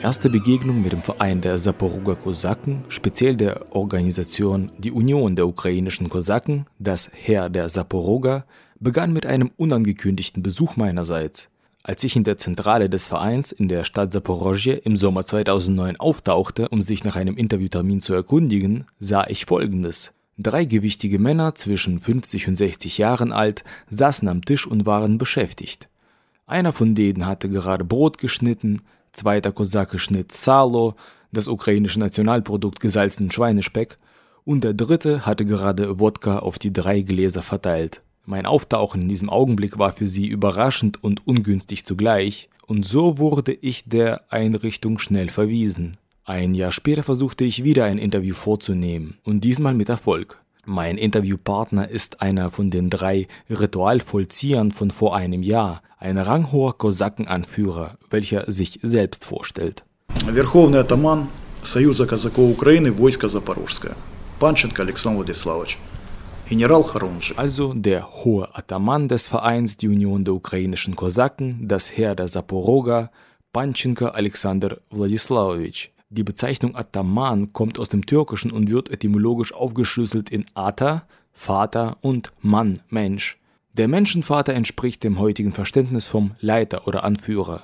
erste Begegnung mit dem Verein der Saporoger Kosaken, speziell der Organisation Die Union der ukrainischen Kosaken, das Heer der Saporoger, begann mit einem unangekündigten Besuch meinerseits. Als ich in der Zentrale des Vereins in der Stadt Saporosje im Sommer 2009 auftauchte, um sich nach einem Interviewtermin zu erkundigen, sah ich Folgendes. 3 gewichtige Männer zwischen 50 und 60 Jahren alt saßen am Tisch und waren beschäftigt. Einer von denen hatte gerade Brot geschnitten, zweiter Kosake schnitt Salo, das ukrainische Nationalprodukt gesalzenen Schweinespeck, und der dritte hatte gerade Wodka auf die 3 Gläser verteilt. Mein Auftauchen in diesem Augenblick war für sie überraschend und ungünstig zugleich, und so wurde ich der Einrichtung schnell verwiesen. Ein Jahr später versuchte ich wieder ein Interview vorzunehmen, und diesmal mit Erfolg. Mein Interviewpartner ist einer von den 3 Ritualvollziehern von vor einem Jahr, ein ranghoher Kosakenanführer, welcher sich selbst vorstellt. Верховный атаман Союза казаков Украины, войско Запорожское, Панченко Александр Владиславович, General Харунжи. Also der hohe Ataman des Vereins Die Union der ukrainischen Kosaken, das Heer der Saporoger, Panchenko Alexander Wladislavowitsch. Die Bezeichnung Ataman kommt aus dem Türkischen und wird etymologisch aufgeschlüsselt in Ata, Vater, und Mann, Mensch. Der Menschenvater entspricht dem heutigen Verständnis vom Leiter oder Anführer.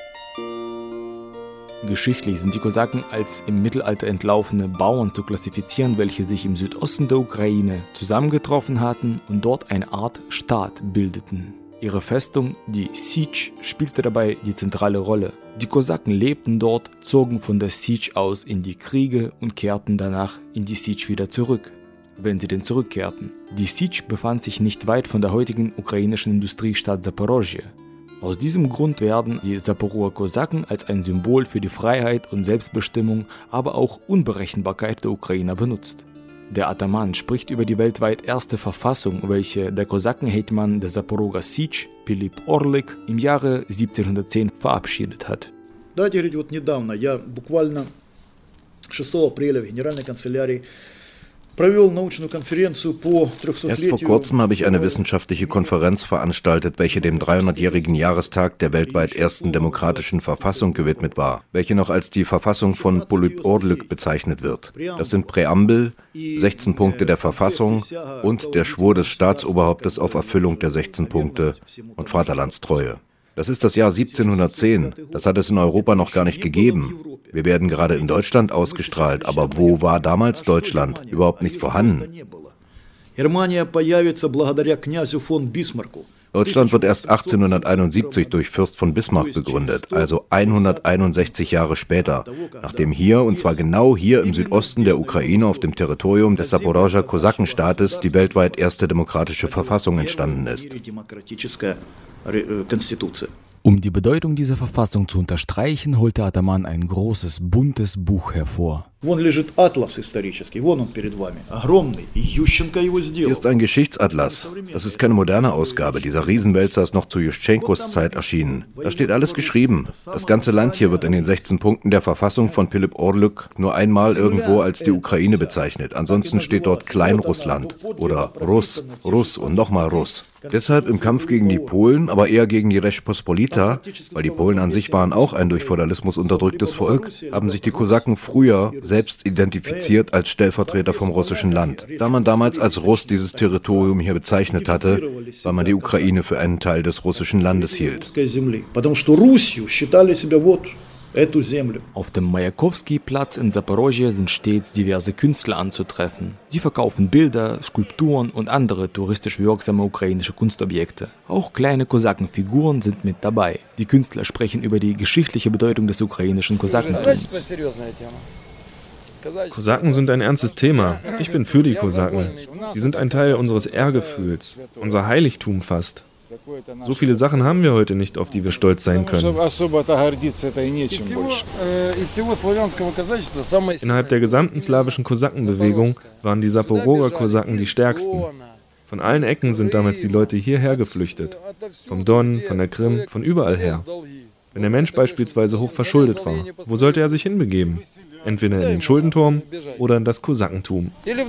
Geschichtlich sind die Kosaken als im Mittelalter entlaufene Bauern zu klassifizieren, welche sich im Südosten der Ukraine zusammengetroffen hatten und dort eine Art Staat bildeten. Ihre Festung, die Sich, spielte dabei die zentrale Rolle. Die Kosaken lebten dort, zogen von der Sich aus in die Kriege und kehrten danach in die Sich wieder zurück, wenn sie denn zurückkehrten. Die Sich befand sich nicht weit von der heutigen ukrainischen Industriestadt Saporosje. Aus diesem Grund werden die Saporoger Kosaken als ein Symbol für die Freiheit und Selbstbestimmung, aber auch Unberechenbarkeit der Ukrainer benutzt. Der Ataman spricht über die weltweit erste Verfassung, welche der Kosakenhetman der Saporoger Sich, Pilip Orlik, im Jahre 1710 verabschiedet hat. Давайте говорить, вот недавно я буквально 6 апреля в Генеральной канцелярии Erst vor kurzem habe ich eine wissenschaftliche Konferenz veranstaltet, welche dem 300-jährigen Jahrestag der weltweit ersten demokratischen Verfassung gewidmet war, welche noch als die Verfassung von Pilip Orlik bezeichnet wird. Das sind Präambel, 16 Punkte der Verfassung und der Schwur des Staatsoberhauptes auf Erfüllung der 16 Punkte und Vaterlandstreue. Das ist das Jahr 1710. Das hat es in Europa noch gar nicht gegeben. Wir werden gerade in Deutschland ausgestrahlt, aber wo war damals Deutschland? Überhaupt nicht vorhanden. Deutschland wird erst 1871 durch Fürst von Bismarck begründet, also 161 Jahre später, nachdem hier, und zwar genau hier im Südosten der Ukraine auf dem Territorium des Saporoger Kosakenstaates, die weltweit erste demokratische Verfassung entstanden ist. Um die Bedeutung dieser Verfassung zu unterstreichen, holte Ataman ein großes, buntes Buch hervor. Hier ist ein Geschichtsatlas. Das ist keine moderne Ausgabe. Dieser Riesenwälzer ist noch zu Juschtschenkos Zeit erschienen. Da steht alles geschrieben. Das ganze Land hier wird in den 16 Punkten der Verfassung von Pilip Orlik nur einmal irgendwo als die Ukraine bezeichnet. Ansonsten steht dort Kleinrussland oder Russ, Russ und nochmal Russ. Deshalb im Kampf gegen die Polen, aber eher gegen die Rzeczpospolita, weil die Polen an sich waren auch ein durch Feudalismus unterdrücktes Volk, haben sich die Kosaken früher selbst identifiziert als Stellvertreter vom russischen Land. Da man damals als Russ dieses Territorium hier bezeichnet hatte, weil man die Ukraine für einen Teil des russischen Landes hielt. Auf dem Majakowski-Platz in Saporosje sind stets diverse Künstler anzutreffen. Sie verkaufen Bilder, Skulpturen und andere touristisch wirksame ukrainische Kunstobjekte. Auch kleine Kosakenfiguren sind mit dabei. Die Künstler sprechen über die geschichtliche Bedeutung des ukrainischen Kosakentums. Kosaken sind ein ernstes Thema. Ich bin für die Kosaken. Sie sind ein Teil unseres Ehrgefühls, unser Heiligtum fast. So viele Sachen haben wir heute nicht, auf die wir stolz sein können. Innerhalb der gesamten slawischen Kosakenbewegung waren die Saporoger Kosaken die stärksten. Von allen Ecken sind damals die Leute hierher geflüchtet. Vom Don, von der Krim, von überall her. Wenn der Mensch beispielsweise hoch verschuldet war, wo sollte er sich hinbegeben? Entweder in den Schuldenturm oder in das Kosakentum.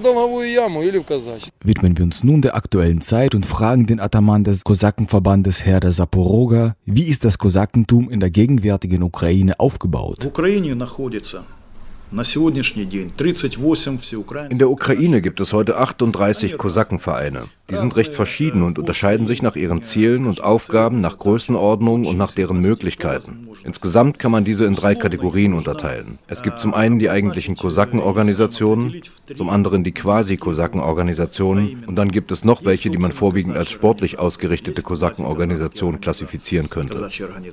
Widmen wir uns nun der aktuellen Zeit und fragen den Ataman des Kosakenverbandes Herr der Saporoga, wie ist das Kosakentum in der gegenwärtigen Ukraine aufgebaut? In der Ukraine gibt es heute 38 Kosakenvereine. Die sind recht verschieden und unterscheiden sich nach ihren Zielen und Aufgaben, nach Größenordnung und nach deren Möglichkeiten. Insgesamt kann man diese in 3 Kategorien unterteilen. Es gibt zum einen die eigentlichen Kosakenorganisationen, zum anderen die Quasi-Kosakenorganisationen und dann gibt es noch welche, die man vorwiegend als sportlich ausgerichtete Kosakenorganisationen klassifizieren könnte.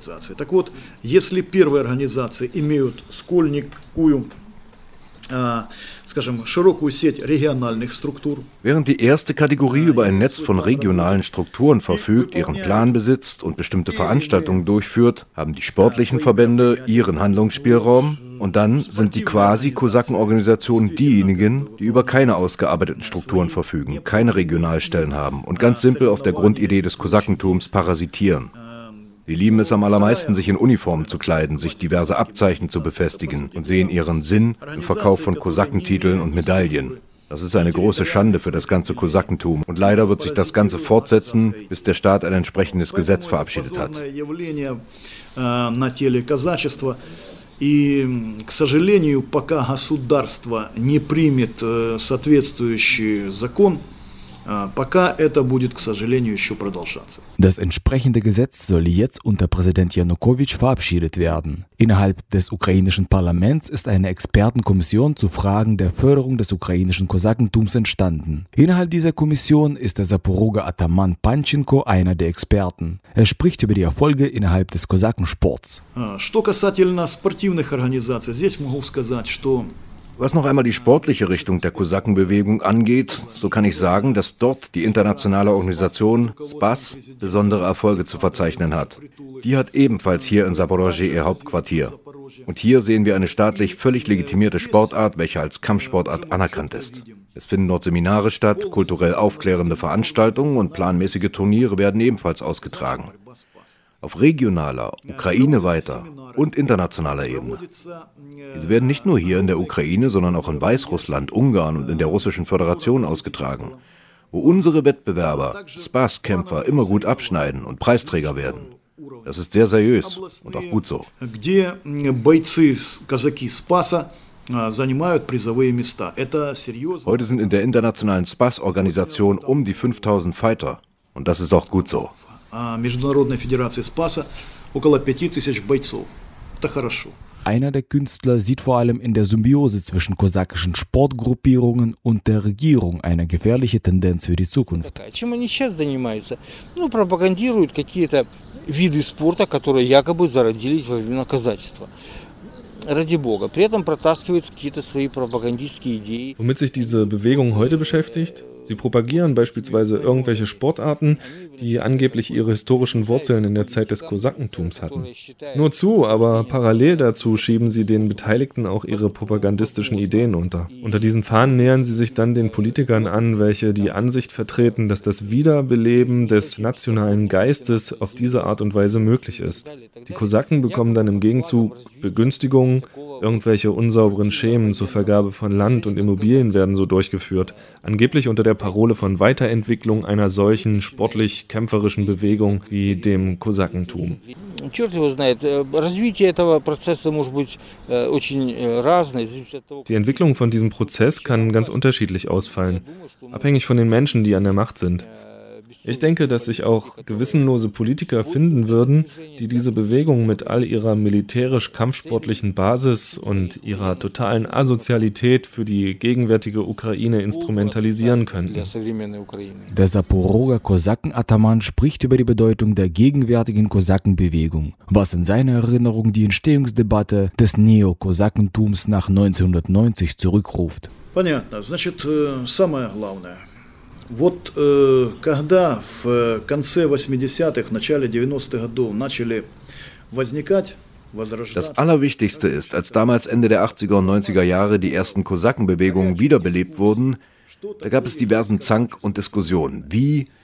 Während die erste Kategorie über ein Netz von regionalen Strukturen verfügt, ihren Plan besitzt und bestimmte Veranstaltungen durchführt, haben die sportlichen Verbände ihren Handlungsspielraum und dann sind die Quasi-Kosakenorganisationen diejenigen, die über keine ausgearbeiteten Strukturen verfügen, keine Regionalstellen haben und ganz simpel auf der Grundidee des Kosakentums parasitieren. Die lieben es am allermeisten, sich in Uniformen zu kleiden, sich diverse Abzeichen zu befestigen und sehen ihren Sinn im Verkauf von Kosakentiteln und Medaillen. Das ist eine große Schande für das ganze Kosakentum und leider wird sich das Ganze fortsetzen, bis der Staat ein entsprechendes Gesetz verabschiedet hat. И, к сожалению, пока государство не примет соответствующий закон, пока это будет, к сожалению, еще продолжаться. Das entsprechende Gesetz soll jetzt unter Präsident Janukowitsch verabschiedet werden. Innerhalb des ukrainischen Parlaments ist eine Expertenkommission zu Fragen der Förderung des ukrainischen Kosakentums entstanden. Innerhalb dieser Kommission ist der Saporoger Ataman Panchenko einer der Experten. Er spricht über die Erfolge innerhalb des Kosakensports. Что касательно спортивных организаций, здесь могу сказать, что Was noch einmal die sportliche Richtung der Kosakenbewegung angeht, so kann ich sagen, dass dort die internationale Organisation SPAS besondere Erfolge zu verzeichnen hat. Die hat ebenfalls hier in Zaporozhye ihr Hauptquartier. Und hier sehen wir eine staatlich völlig legitimierte Sportart, welche als Kampfsportart anerkannt ist. Es finden dort Seminare statt, kulturell aufklärende Veranstaltungen und planmäßige Turniere werden ebenfalls ausgetragen. Auf regionaler, ukraineweiter und internationaler Ebene. Diese werden nicht nur hier in der Ukraine, sondern auch in Weißrussland, Ungarn und in der Russischen Föderation ausgetragen, wo unsere Wettbewerber, SPAS-Kämpfer, immer gut abschneiden und Preisträger werden. Das ist sehr seriös und auch gut so. Heute sind in der internationalen SPAS-Organisation um die 5000 Fighter und das ist auch gut so. Международной Федерации Спаса около 5000 бойцов. Это хорошо. Einer der Künstler sieht vor allem in der Symbiose zwischen kosakischen Sportgruppierungen und der Regierung eine gefährliche Tendenz für die Zukunft. Чем они сейчас занимаются? Пропагандируют какие-то виды спорта, которые якобы зародились во времена казачества. Ради Бога. При этом протаскивают какие-то свои пропагандистские идеи. Womit sich diese Bewegung heute beschäftigt? Sie propagieren beispielsweise irgendwelche Sportarten, die angeblich ihre historischen Wurzeln in der Zeit des Kosakentums hatten. Nur zu, aber parallel dazu schieben sie den Beteiligten auch ihre propagandistischen Ideen unter. Unter diesen Fahnen nähern sie sich dann den Politikern an, welche die Ansicht vertreten, dass das Wiederbeleben des nationalen Geistes auf diese Art und Weise möglich ist. Die Kosaken bekommen dann im Gegenzug Begünstigungen, irgendwelche unsauberen Schemen zur Vergabe von Land und Immobilien werden so durchgeführt, angeblich unter der Parole von Weiterentwicklung einer solchen sportlich-kämpferischen Bewegung wie dem Kosakentum. Die Entwicklung von diesem Prozess kann ganz unterschiedlich ausfallen, abhängig von den Menschen, die an der Macht sind. Ich denke, dass sich auch gewissenlose Politiker finden würden, die diese Bewegung mit all ihrer militärisch-kampfsportlichen Basis und ihrer totalen Asozialität für die gegenwärtige Ukraine instrumentalisieren könnten. Der Saporoger Kosaken-Ataman spricht über die Bedeutung der gegenwärtigen Kosakenbewegung, was in seiner Erinnerung die Entstehungsdebatte des Neokosakentums nach 1990 zurückruft. Понятно. Значит, самое главное. Вот когда в конце 80-х, начале 90-х годов начали возникать, Das Allerwichtigste ist, als damals Ende der 80er und 90er Jahre die ersten Kosakenbewegungen wiederbelebt wurden, da gab es diversen Zank und Diskussionen. Wie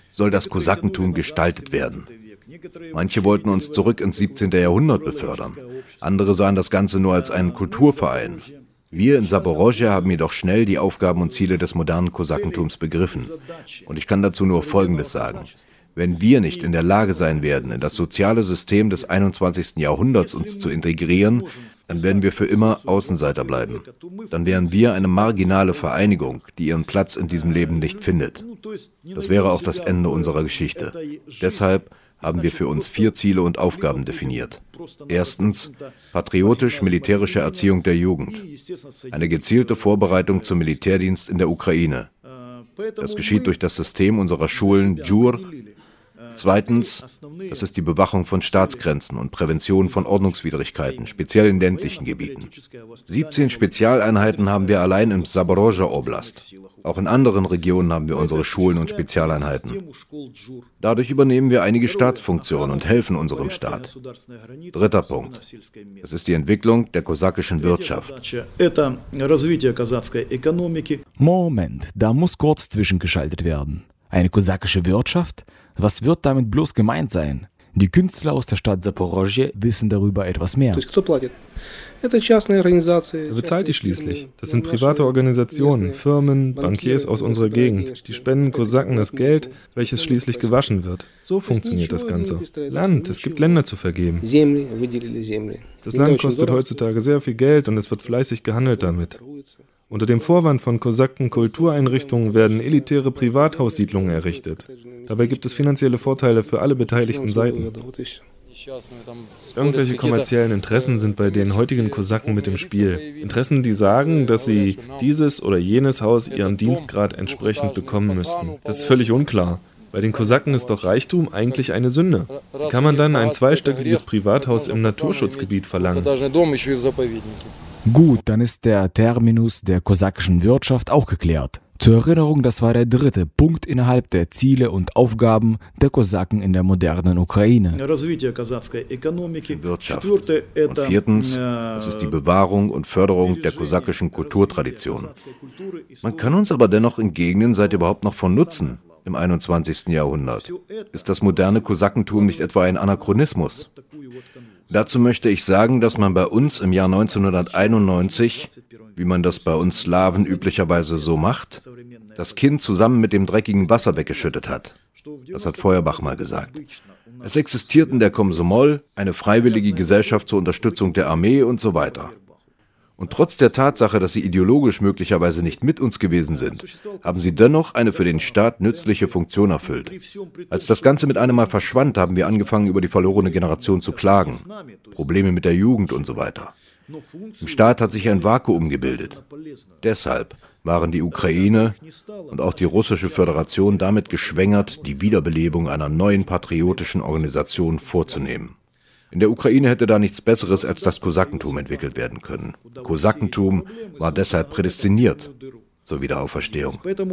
soll das Kosakentum gestaltet werden. Manche wollten uns zurück ins 17. Jahrhundert befördern. Andere sahen das Ganze nur als einen Kulturverein. Wir in Saporoscha haben jedoch schnell die Aufgaben und Ziele des modernen Kosakentums begriffen. Und ich kann dazu nur Folgendes sagen. Wenn wir nicht in der Lage sein werden, in das soziale System des 21. Jahrhunderts uns zu integrieren, dann werden wir für immer Außenseiter bleiben. Dann wären wir eine marginale Vereinigung, die ihren Platz in diesem Leben nicht findet. Das wäre auch das Ende unserer Geschichte. Deshalb haben wir für uns 4 Ziele und Aufgaben definiert. Erstens, patriotisch-militärische Erziehung der Jugend. Eine gezielte Vorbereitung zum Militärdienst in der Ukraine. Das geschieht durch das System unserer Schulen JUR. Zweitens, das ist die Bewachung von Staatsgrenzen und Prävention von Ordnungswidrigkeiten, speziell in ländlichen Gebieten. 17 Spezialeinheiten haben wir allein im Saporoscha Oblast. Auch in anderen Regionen haben wir unsere Schulen und Spezialeinheiten. Dadurch übernehmen wir einige Staatsfunktionen und helfen unserem Staat. Dritter Punkt. Das ist die Entwicklung der kosakischen Wirtschaft. Moment, da muss kurz zwischengeschaltet werden. Eine kosakische Wirtschaft? Was wird damit bloß gemeint sein? Die Künstler aus der Stadt Saporoscha wissen darüber etwas mehr. Wer bezahlt die schließlich? Das sind private Organisationen, Firmen, Bankiers aus unserer Gegend. Die spenden Kosaken das Geld, welches schließlich gewaschen wird. So funktioniert das Ganze. Land, es gibt Länder zu vergeben. Das Land kostet heutzutage sehr viel Geld und es wird fleißig gehandelt damit. Unter dem Vorwand von Kosaken-Kultureinrichtungen werden elitäre Privathaussiedlungen errichtet. Dabei gibt es finanzielle Vorteile für alle beteiligten Seiten. Irgendwelche kommerziellen Interessen sind bei den heutigen Kosaken mit im Spiel. Interessen, die sagen, dass sie dieses oder jenes Haus ihrem Dienstgrad entsprechend bekommen müssten. Das ist völlig unklar. Bei den Kosaken ist doch Reichtum eigentlich eine Sünde. Wie kann man dann ein zweistöckiges Privathaus im Naturschutzgebiet verlangen? Gut, dann ist der Terminus der kosakischen Wirtschaft auch geklärt. Zur Erinnerung, das war der 3. Punkt innerhalb der Ziele und Aufgaben der Kosaken in der modernen Ukraine. Wirtschaft. Und 4. das ist die Bewahrung und Förderung der kosakischen Kulturtradition. Man kann uns aber dennoch in Gegenden seit überhaupt noch von nutzen. Im 21. Jahrhundert. Ist das moderne Kosakentum nicht etwa ein Anachronismus? Dazu möchte ich sagen, dass man bei uns im Jahr 1991, wie man das bei uns Slawen üblicherweise so macht, das Kind zusammen mit dem dreckigen Wasser weggeschüttet hat. Das hat Feuerbach mal gesagt. Es existiert in der Komsomol eine freiwillige Gesellschaft zur Unterstützung der Armee und so weiter. Und trotz der Tatsache, dass sie ideologisch möglicherweise nicht mit uns gewesen sind, haben sie dennoch eine für den Staat nützliche Funktion erfüllt. Als das Ganze mit einem Mal verschwand, haben wir angefangen, über die verlorene Generation zu klagen. Probleme mit der Jugend und so weiter. Im Staat hat sich ein Vakuum gebildet. Deshalb waren die Ukraine und auch die Russische Föderation damit geschwängert, die Wiederbelebung einer neuen patriotischen Organisation vorzunehmen. In der Ukraine hätte da nichts Besseres als das Kosakentum entwickelt werden können. Kosakentum war deshalb prädestiniert zur Wiederaufverstehung.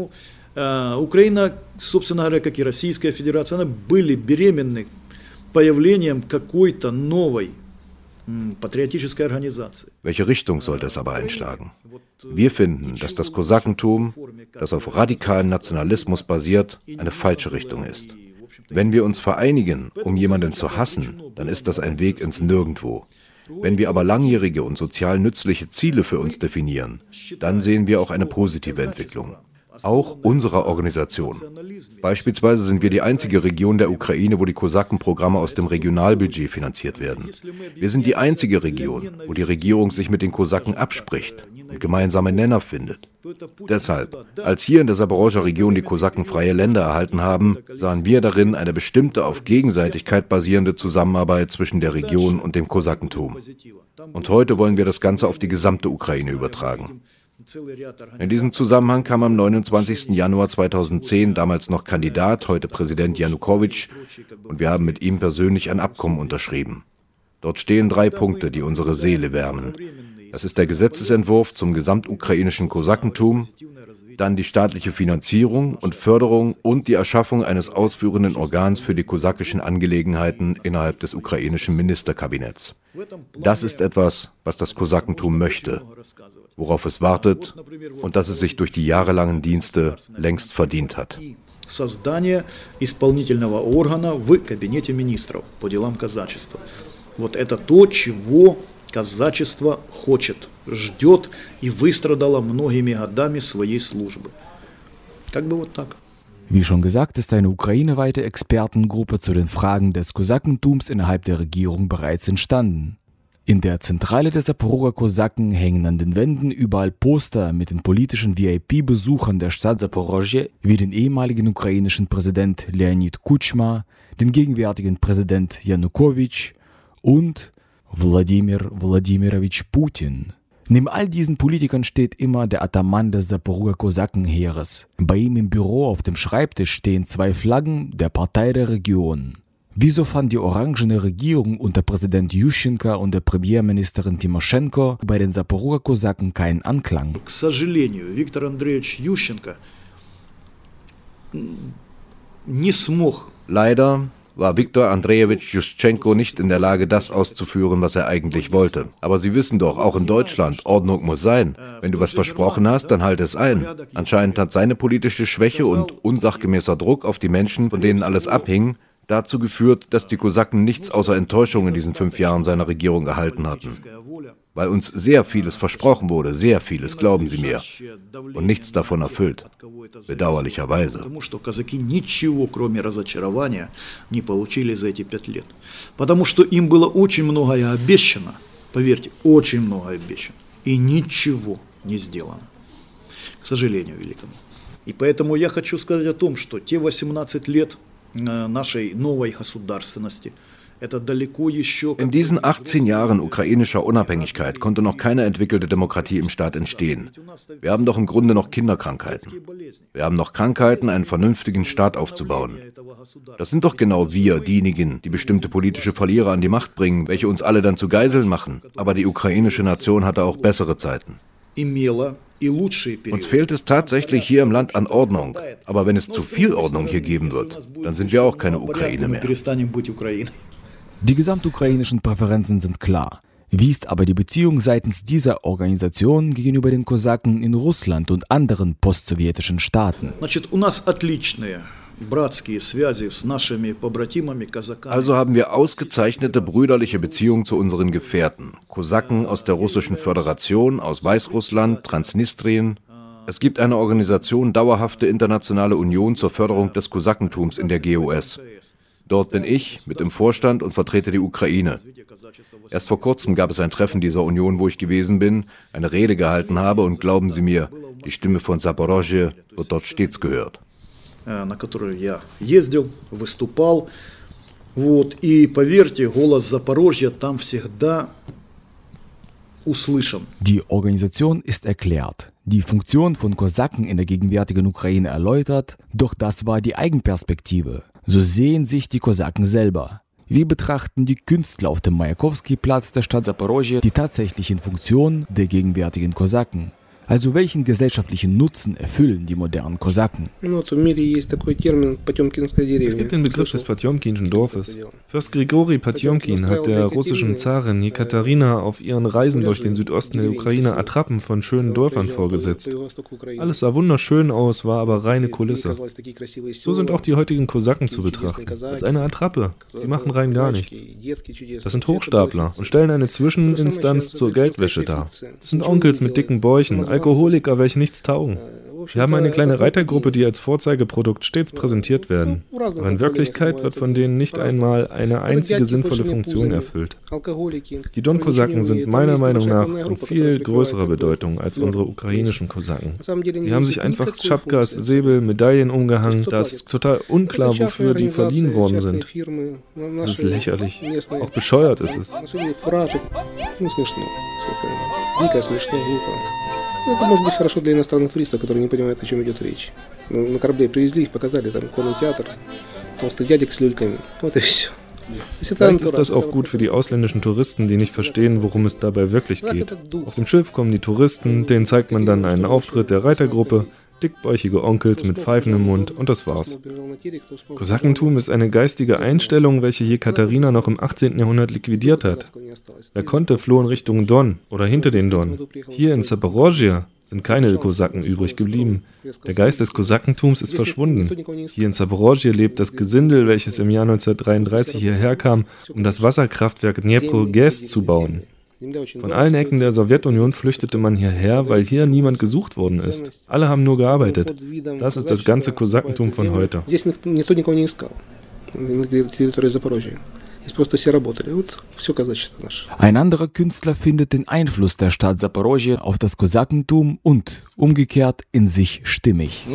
Украина, собственно говоря, как и Российская Федерация, она были беременны появлением какой-то новой патриотической организации. Welche Richtung sollte es aber einschlagen? Wir finden, dass das Kosakentum, das auf radikalen Nationalismus basiert, eine falsche Richtung ist. Wenn wir uns vereinigen, um jemanden zu hassen, dann ist das ein Weg ins Nirgendwo. Wenn wir aber langjährige und sozial nützliche Ziele für uns definieren, dann sehen wir auch eine positive Entwicklung. Auch unserer Organisation. Beispielsweise sind wir die einzige Region der Ukraine, wo die Kosakenprogramme aus dem Regionalbudget finanziert werden. Wir sind die einzige Region, wo die Regierung sich mit den Kosaken abspricht und gemeinsame Nenner findet. Deshalb, als hier in der Saporoscha Region die Kosaken freie Länder erhalten haben, sahen wir darin eine bestimmte auf Gegenseitigkeit basierende Zusammenarbeit zwischen der Region und dem Kosakentum. Und heute wollen wir das Ganze auf die gesamte Ukraine übertragen. In diesem Zusammenhang kam am 29. Januar 2010 damals noch Kandidat, heute Präsident Janukowitsch, und wir haben mit ihm persönlich ein Abkommen unterschrieben. Dort stehen 3 Punkte, die unsere Seele wärmen. Das ist der Gesetzesentwurf zum gesamtukrainischen Kosakentum, dann die staatliche Finanzierung und Förderung und die Erschaffung eines ausführenden Organs für die kosakischen Angelegenheiten innerhalb des ukrainischen Ministerkabinetts. Das ist etwas, was das Kosakentum möchte, worauf es wartet und das es sich durch die jahrelangen Dienste längst verdient hat. создание исполнительного органа в Кабинете министров по делам казачества. Вот это то, чего казачество хочет, ждет и выстрадало многими годами своей службы. Как бы вот так. Wie schon gesagt, ist eine ukraineweite Expertengruppe zu den Fragen des Kosakentums innerhalb der Regierung bereits entstanden. In der Zentrale der Saporoger Kosaken hängen an den Wänden überall Poster mit den politischen VIP-Besuchern der Stadt Saporozhye, wie den ehemaligen ukrainischen Präsident Leonid Kutschma, den gegenwärtigen Präsident Janukowitsch und Wladimir Wladimirovich Putin. Neben all diesen Politikern steht immer der Ataman des Saporoger Kosakenheeres. Bei ihm im Büro auf dem Schreibtisch stehen 2 Flaggen der Partei der Region. Wieso fand die orangene Regierung unter Präsident Juschenko und der Premierministerin Timoschenko bei den Saporoger Kosaken keinen Anklang? К сожалению, Виктор Андреевич Ющенко не смог. Leider war Viktor Andrejewitsch Juschtschenko nicht in der Lage, das auszuführen, was er eigentlich wollte. Aber Sie wissen doch, auch in Deutschland, Ordnung muss sein. Wenn du was versprochen hast, dann halte es ein. Anscheinend hat seine politische Schwäche und unsachgemäßer Druck auf die Menschen, von denen alles abhing, dazu geführt, dass die Kosaken nichts außer Enttäuschung in diesen 5 Jahren seiner Regierung erhalten hatten. Weil uns sehr vieles versprochen wurde, sehr vieles, glauben Sie mir, und nichts davon erfüllt, bedauerlicherweise. Потому что казаки ничего, кроме разочарования, не получили за эти 5 лет. Потому что им было очень многое обещано, поверьте, очень многое обещано, и ничего не сделано, к сожалению великому. И поэтому я хочу сказать о том, что те 18 лет нашей новой государственности, in diesen 18 Jahren ukrainischer Unabhängigkeit konnte noch keine entwickelte Demokratie im Staat entstehen. Wir haben doch im Grunde noch Kinderkrankheiten. Wir haben noch Krankheiten, einen vernünftigen Staat aufzubauen. Das sind doch genau wir, diejenigen, die bestimmte politische Verlierer an die Macht bringen, welche uns alle dann zu Geiseln machen. Aber die ukrainische Nation hatte auch bessere Zeiten. Uns fehlt es tatsächlich hier im Land an Ordnung. Aber wenn es zu viel Ordnung hier geben wird, dann sind wir auch keine Ukraine mehr. Die gesamtukrainischen Präferenzen sind klar. Wie ist aber die Beziehung seitens dieser Organisation gegenüber den Kosaken in Russland und anderen postsowjetischen Staaten? Also haben wir ausgezeichnete brüderliche Beziehungen zu unseren Gefährten, Kosaken aus der Russischen Föderation, aus Weißrussland, Transnistrien. Es gibt eine Organisation Dauerhafte Internationale Union zur Förderung des Kosakentums in der GOS. Dort bin ich mit im Vorstand und vertrete die Ukraine. Erst vor kurzem gab es ein Treffen dieser Union, wo ich gewesen bin, eine Rede gehalten habe und glauben Sie mir, die Stimme von Saporozhye wird dort stets gehört. На которую я ездил, выступал, вот, и поверьте, голос Запорожья там всегда услышан. Die Organisation ist erklärt, die Funktion von Kosaken in der gegenwärtigen Ukraine erläutert, doch das war die Eigenperspektive. So sehen sich die Kosaken selber. Wie betrachten die Künstler auf dem Majakowski-Platz der Stadt Saporozhye die tatsächlichen Funktionen der gegenwärtigen Kosaken? Also welchen gesellschaftlichen Nutzen erfüllen die modernen Kosaken? Es gibt den Begriff des Potjomkinschen Dorfes. Fürst Grigori Potjomkin hat der russischen Zarin Jekaterina auf ihren Reisen durch den Südosten der Ukraine Attrappen von schönen Dörfern vorgesetzt. Alles sah wunderschön aus, war aber reine Kulisse. So sind auch die heutigen Kosaken zu betrachten, als eine Attrappe. Sie machen rein gar nichts. Das sind Hochstapler und stellen eine Zwischeninstanz zur Geldwäsche dar. Das sind Onkels mit dicken Bäuchen, Alkoholiker, welche nichts taugen. Wir haben eine kleine Reitergruppe, die als Vorzeigeprodukt stets präsentiert werden. Aber in Wirklichkeit wird von denen nicht einmal eine einzige sinnvolle Funktion erfüllt. Die Don-Kosaken sind meiner Meinung nach von viel größerer Bedeutung als unsere ukrainischen Kosaken. Sie haben sich einfach Schapkas, Säbel, Medaillen umgehangen. Da ist total unklar, wofür die verliehen worden sind. Das ist lächerlich. Auch bescheuert ist es. Это может быть хорошо для иностранных туристов, которые не понимают, о чем идет речь. На корабле привезли их, показали, там конный театр, толстых дядек с люльками. Вот и все. Vielleicht ist das auch gut für die ausländischen Touristen, die nicht verstehen, worum es dabei wirklich geht. Auf dem Schiff kommen die Touristen, denen zeigt man dann einen Auftritt der Reitergruppe, dickbäuchige Onkels mit Pfeifen im Mund und das war's. Kosakentum ist eine geistige Einstellung, welche Jekaterina noch im 18. Jahrhundert liquidiert hat. Wer konnte, floh in Richtung Don oder hinter den Don. Hier in Zaporozhye sind keine Kosaken übrig geblieben. Der Geist des Kosakentums ist verschwunden. Hier in Zaporozhye lebt das Gesindel, welches im Jahr 1933 hierher kam, um das Wasserkraftwerk Dnepro-GAZ zu bauen. Von allen Ecken der Sowjetunion flüchtete man hierher, weil hier niemand gesucht worden ist. Alle haben nur gearbeitet. Das ist das ganze Kosakentum von heute. Ein anderer Künstler findet den Einfluss der Stadt Zaporozhye auf das Kosakentum und umgekehrt in sich stimmig.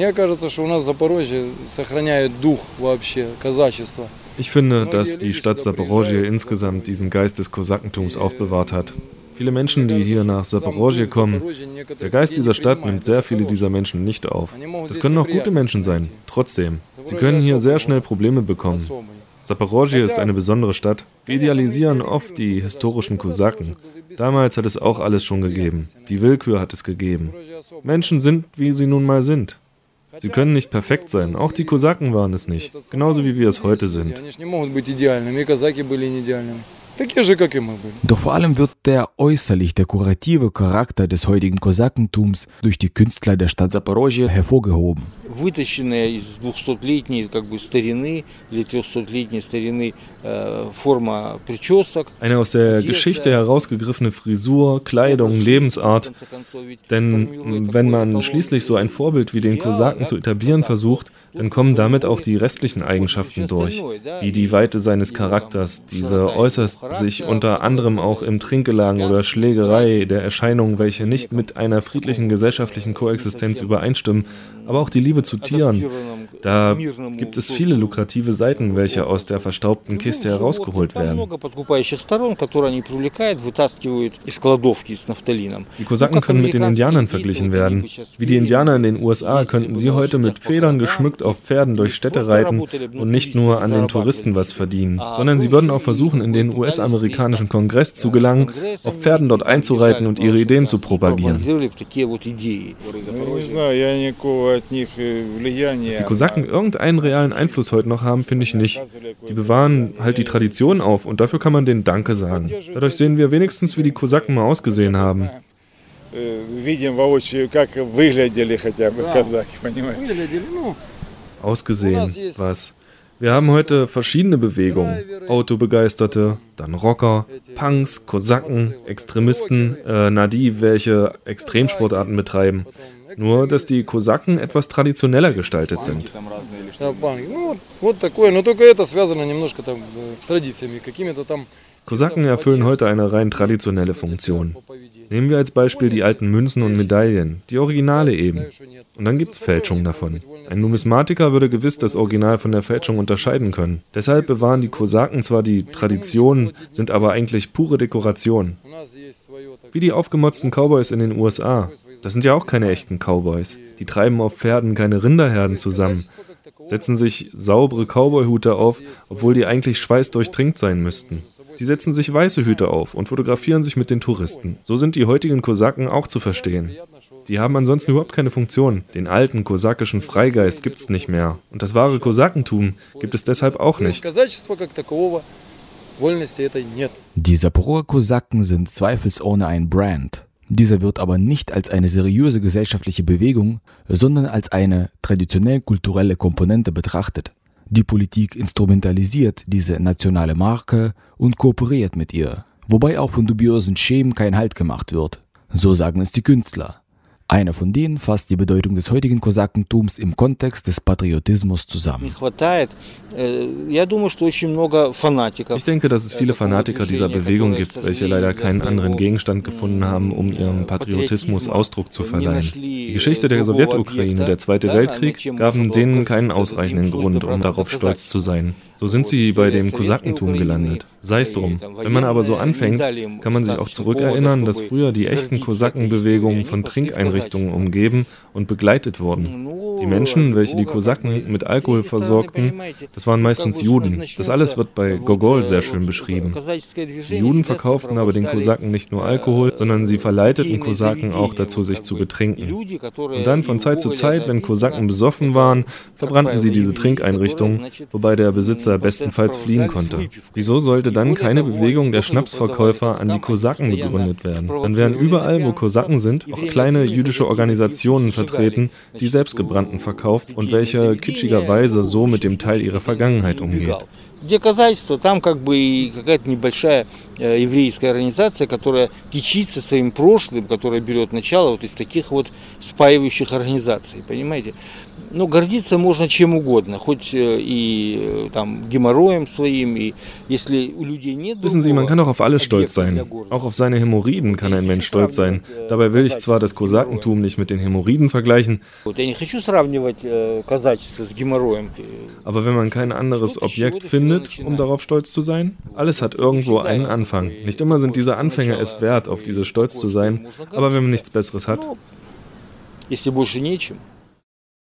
Ich finde, dass die Stadt Zaporozhye insgesamt diesen Geist des Kosakentums aufbewahrt hat. Viele Menschen, die hier nach Zaporozhye kommen, der Geist dieser Stadt nimmt sehr viele dieser Menschen nicht auf. Das können auch gute Menschen sein, trotzdem. Sie können hier sehr schnell Probleme bekommen. Zaporozhye ist eine besondere Stadt. Wir idealisieren oft die historischen Kosaken. Damals hat es auch alles schon gegeben. Die Willkür hat es gegeben. Menschen sind, wie sie nun mal sind. Sie können nicht perfekt sein. Auch die Kosaken waren es nicht. Genauso wie wir es heute sind. Doch vor allem wird der äußerlich dekorative Charakter des heutigen Kosakentums durch die Künstler der Stadt Zaporozhye hervorgehoben. Eine aus der Geschichte herausgegriffene Frisur, Kleidung, Lebensart. Denn wenn man schließlich so ein Vorbild wie den Kosaken zu etablieren versucht, dann kommen damit auch die restlichen Eigenschaften durch, wie die Weite seines Charakters. Diese äußert sich unter anderem auch im Trinkgelage oder Schlägerei der Erscheinungen, welche nicht mit einer friedlichen gesellschaftlichen Koexistenz übereinstimmen, aber auch die Liebe zu Tieren. Da gibt es viele lukrative Seiten, welche aus der verstaubten Kiste herausgeholt werden. Die Kosaken können mit den Indianern verglichen werden. Wie die Indianer in den USA könnten sie heute mit Federn geschmückt auf Pferden durch Städte reiten und nicht nur an den Touristen was verdienen, sondern sie würden auch versuchen, in den US-amerikanischen Kongress zu gelangen, auf Pferden dort einzureiten und ihre Ideen zu propagieren. Dass die Kosaken irgendeinen realen Einfluss heute noch haben, finde ich nicht. Die bewahren halt die Tradition auf und dafür kann man denen Danke sagen. Dadurch sehen wir wenigstens, wie die Kosaken mal ausgesehen haben. Ausgesehen, was? Wir haben heute verschiedene Bewegungen. Autobegeisterte, dann Rocker, Punks, Kosaken, Extremisten, die welche Extremsportarten betreiben. Nur, dass die Kosaken etwas traditioneller gestaltet sind. Kosaken erfüllen heute eine rein traditionelle Funktion. Nehmen wir als Beispiel die alten Münzen und Medaillen, die Originale eben. Und dann gibt es Fälschungen davon. Ein Numismatiker würde gewiss das Original von der Fälschung unterscheiden können. Deshalb bewahren die Kosaken zwar die Tradition, sind aber eigentlich pure Dekoration. Wie die aufgemotzten Cowboys in den USA. Das sind ja auch keine echten Cowboys. Die treiben auf Pferden keine Rinderherden zusammen, setzen sich saubere Cowboyhüte auf, obwohl die eigentlich schweißdurchtränkt sein müssten. Die setzen sich weiße Hüte auf und fotografieren sich mit den Touristen. So sind die heutigen Kosaken auch zu verstehen. Die haben ansonsten überhaupt keine Funktion. Den alten kosakischen Freigeist gibt es nicht mehr. Und das wahre Kosakentum gibt es deshalb auch nicht. Die Saporoger Kosaken sind zweifelsohne ein Brand. Dieser wird aber nicht als eine seriöse gesellschaftliche Bewegung, sondern als eine traditionell-kulturelle Komponente betrachtet. Die Politik instrumentalisiert diese nationale Marke und kooperiert mit ihr, wobei auch von dubiosen Schemen kein Halt gemacht wird. So sagen es die Künstler. Einer von denen fasst die Bedeutung des heutigen Kosakentums im Kontext des Patriotismus zusammen. Ich denke, dass es viele Fanatiker dieser Bewegung gibt, welche leider keinen anderen Gegenstand gefunden haben, um ihrem Patriotismus Ausdruck zu verleihen. Die Geschichte der Sowjetukraine, der Zweite Weltkrieg, gaben denen keinen ausreichenden Grund, um darauf stolz zu sein. So sind sie bei dem Kosakentum gelandet. Sei es drum. Wenn man aber so anfängt, kann man sich auch zurückerinnern, dass früher die echten Kosakenbewegungen von Trinkeinrichtungen umgeben und begleitet wurden. Die Menschen, welche die Kosaken mit Alkohol versorgten, das waren meistens Juden. Das alles wird bei Gogol sehr schön beschrieben. Die Juden verkauften aber den Kosaken nicht nur Alkohol, sondern sie verleiteten Kosaken auch dazu, sich zu betrinken. Und dann von Zeit zu Zeit, wenn Kosaken besoffen waren, verbrannten sie diese Trinkeinrichtungen, wobei der Besitzer bestenfalls fliehen konnte. Wieso sollte dann keine Bewegung der Schnapsverkäufer an die Kosaken begründet werden? Dann wären überall, wo Kosaken sind, auch kleine jüdische Organisationen vertreten, die selbstgebrannten verkauft und welche kitschigerweise so mit dem Teil ihrer Vergangenheit umgeht. Где казачество, там как бы и какая-то небольшая еврейская организация, которая кичится своим прошлым, которая берет начало вот из таких вот спаивающих организаций, понимаете? Ну, гордиться можно чем угодно, хоть и там Геморроем своим, и если у людей нет... Wissen Sie, man kann auch auf alles stolz sein. Auch auf seine Hämorrhoiden kann ein Mensch stolz sein. Dabei will ich zwar das Kosakentum nicht mit den Hämorrhoiden vergleichen, aber wenn man kein anderes Objekt findet, um darauf stolz zu sein, alles hat irgendwo einen Anfang. Nicht immer sind diese Anfänge es wert, auf diese stolz zu sein, aber wenn man nichts Besseres hat... Если больше нечем,